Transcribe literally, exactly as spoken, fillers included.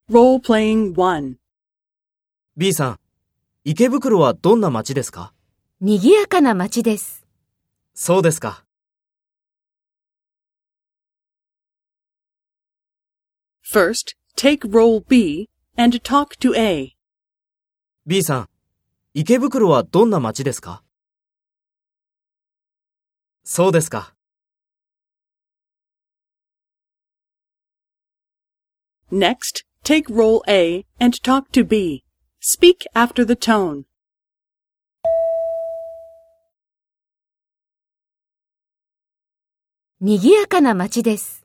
Role-playing one. B さん、池袋はどんな街ですか？ 賑やかな街です。 そうですか。 First, take role B and talk to A. B さん、池袋はどんな街ですか？そうですか。 Next, take role A and talk to B. Speak after the tone. 賑やかな街です。